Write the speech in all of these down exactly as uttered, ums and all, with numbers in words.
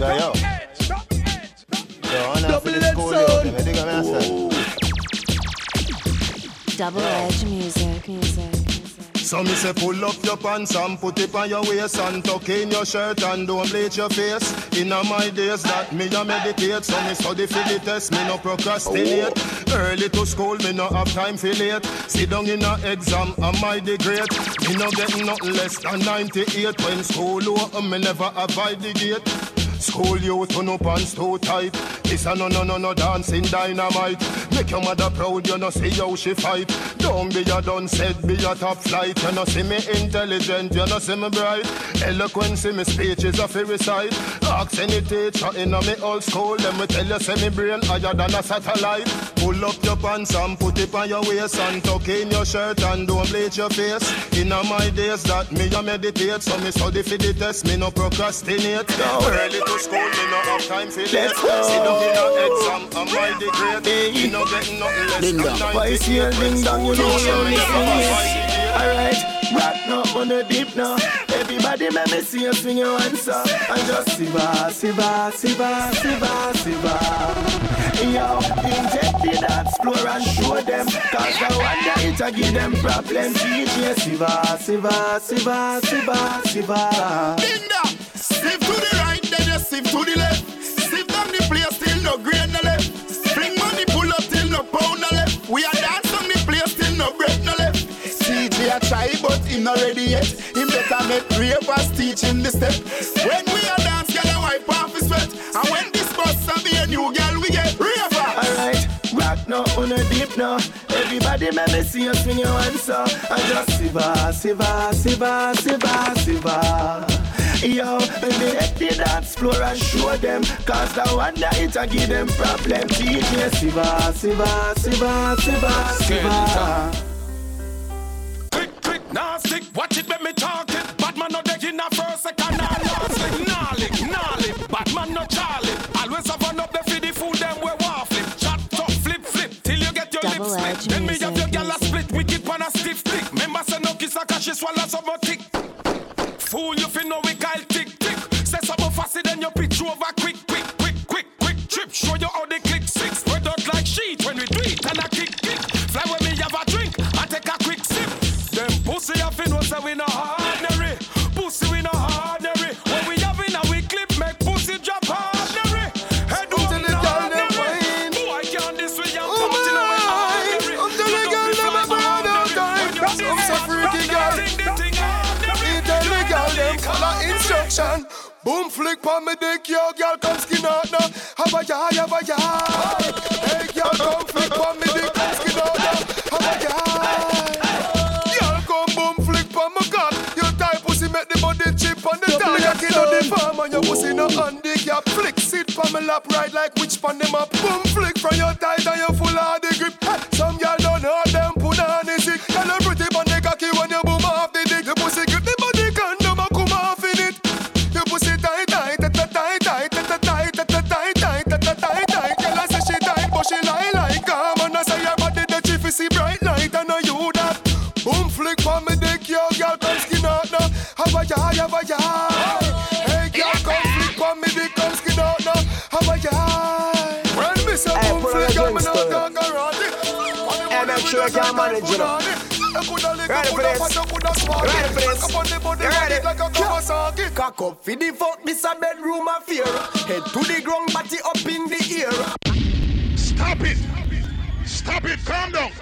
So yo, yo, I'm not for the school yo, can I dig on myself? Double edge music, music. So me say pull up your pants and put it on your waist and tuck in your shirt and don't bleach your face. Inna my days that me a meditate, so me study for the test, me no procrastinate. Early to school, me no have time for late. Sit down in a exam, am I the great? Me no get nothing less than ninety-eight. When school open, me never avoid the gate. School youth, turn up pants too tight. This a no no no no dancing dynamite. Make your mother proud, you no see how she fight. Don't be a done said, be a top flight. You no see me intelligent, you no see me bright. Eloquence in me speech is a free recite. Ask any teacher in a me old school, let me tell you, say me brain higher than a satellite. Pull up your pants and put it on your waist and tuck in your shirt and don't bleach your face. In a my days that me a meditate, so me study for the test, me no procrastinate. Early to school, me no have time for late. Sit down in a exam, am I the great? Me no get nothing less than ninety-eight. Ding dong, you know you're listening. Alright, rock now on the deep now. Everybody make me see you swing your hands up and just siva, siva, siva, siva, siva. Yo, inject the dance floor and show them, cause I wonder it a give them problems. D J siva, siva, siva, siva, siva. Ding dong, sieve to the right, then you sieve to the left. Sieve down the place till no grain no left. Spring money pull up till no pound no left. We are dance on the place till no bread no left. C J a try but him not ready yet. Him better make ravers teach him the step. When we are dance, girl a wipe off his sweat. And when this bus a be a new girl, we get ravers. Alright, rock now on the deep now. Everybody make me see you swing your hands up and just siva, siva, siva, siva, siva. Yo, when they hit the dance floor and show them, cause the wonder it a give them problem. D J siva, siva, siva, siva, siva. Quick, quick, now stick, watch it when me talk it. Bad man no deck in a first, second, and last. Gnarly, gnarly, bad man no Charlie. Always have run up the feed the food them we waffle. Chat, talk, flip, flip, till you get your Double lips edge split. Then me music, have your gal a music. split, we keep on a stiff stick. Remember say no kiss a cause she swallow some more tick. Fool you fi know we Kyle tick tick. Say something faster than your pitch over quick, quick, quick, quick, quick. Trip, show you how they click six. Spread out like sheet when we do it and a kick kick. Fly when me have a drink and take a quick sip. Them pussy have fi know say we no ordinary. Pussy we no ordinary. When we have in a we clip make pussy drop ordinary. Head up in the ordinary. Boy can't this way and put in a way ordinary. Until the girl them a burn out time. I'm so freaky girl. Instruction. Boom flick pa me dick, yo girl come skin out now. Have a yah, have a yah. Hey girl come flick pa me dick, come skin out now. Have a yah. Girl come boom flick pa me cock. Your tight pussy make the body chip on the top. You kill the farm and your pussy no handicap. Flick sit pa me lap right like which pan them up. Boom flick from your tight and you full of the grip. Some girl don't know them put on the sick. Girl you pretty pan the cocky when you boom off the dick. The pussy grip the body condom and come off in it. You pussy tight, tight, tight, tight, tight, tight, tight, tight, tight, tight, tight, tight, tight. Girl I say she tight, but she lie like calm. And I say your body the chief is see bright light, and I you that. Boom flick for me dick, yo girl come skin out now. Have a yah, have a yah. Hey girl come flick for me dick, come skin out now. Have a yah. When me say boom flick, I'm not talking around it. Hey, make sure you can manage it up. Ready for this? Ready for this? You ready? Cock up for the fuck, this a bedroom affair. Head to the ground, body up in the air. Stop it! Stop it! Calm down!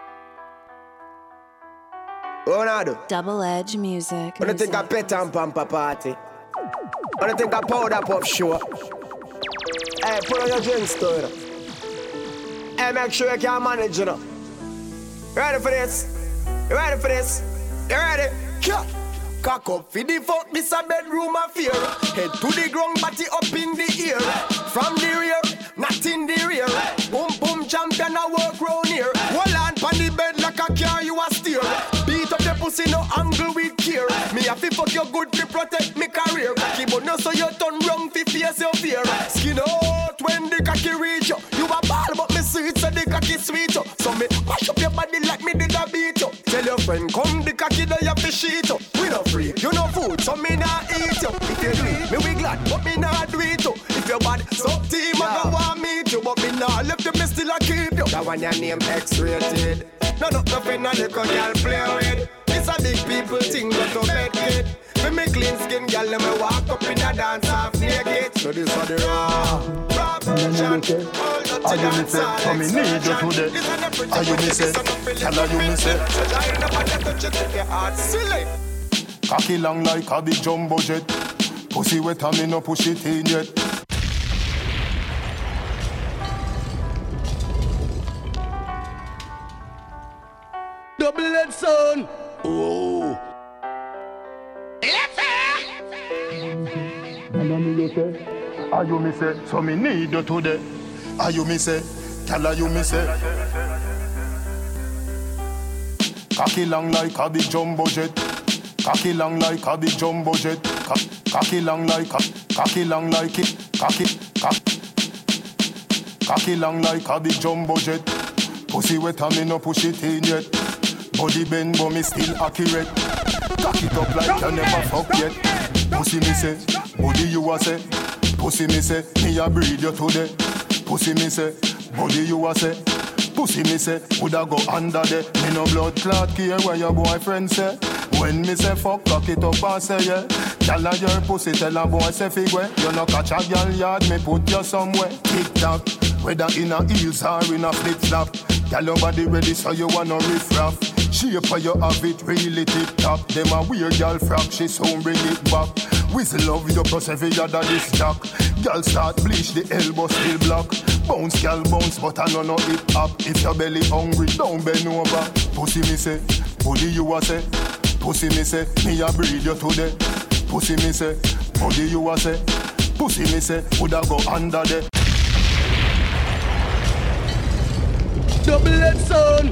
Ronaldo, Double edge music. when you think a pet and pamper party, when you think a powder puff show, hey, put on your drink store. Hey, make sure you can manage it up. Ready for this? You ready for this? You ready? Yeah. Cock up for the fuck, this a bedroom affair. Head to the ground, body up in the air. From the rear, not in the rear. Boom boom champion a work round here. Hold on pon the bed like a car you a steer. Beat up the pussy no angle with care. Me a fi fuck you good to protect me career. Cocky but no so you turn wrong fi face your fear. Skin out when the cocky reach you. You a ball but me sweet so the cocky sweet you. So me mash up your body like me did a beat you. Tell your friend come the cocky there you fi shit you. We no free, you no food so me nah eat you. If you do it, me we glad but me nah do it you. and your name X-rated. No, no, nothing a little girl play with. It's a big people thing, go to bed kid. With me clean skin, girl, let me walk up in a dance half naked. So this is the raw, raw version. All the to dance hall explosion. This is the pretty, Are you pretty, me this say? is the pretty, Tell her you me say. so giant up and let touch it if your heart silly. Cocky long like a big jumbo jet. Pussy wet and me no push it in yet. Double-head son. Oh. Are you me say? So me need you today. Are you me say? Tell her you me say. Cocky long like a big jumbo jet. Cocky long like a big jumbo jet. Co- cocky long like a, cocky long like it. Cocky, cock. Cocky long like a big jumbo jet. Pussy wet and me no push it in yet. Body bend but me still accurate. Cock it up like you never fuck yet. Pussy me say, body you a say. Pussy me say, me a breed you today. Pussy me say, body you a say. Pussy me say, woulda go under there. Me no blood clot care where your boyfriend say. When me say fuck, cock it up and say yeah. Tell her your pussy, tell her boy say figure. You no catch a girl yard, me put you somewhere. Tick tock, whether in a heels or in a flip flop. Tell your body ready so you wanna riff raff. Shape for you have it really tip top. Them a weird girl frock, she soon bring it back. Whistle love your plus every other this jack. Girl start bleach, the elbow still block. Bounce, girl bounce, but I know no hip hop. If your belly hungry, don't bend over. Pussy me say, body you a say. Pussy me say, me a breed you today. Pussy me say, body you a say. Pussy me say, woulda go under there. Double-head son.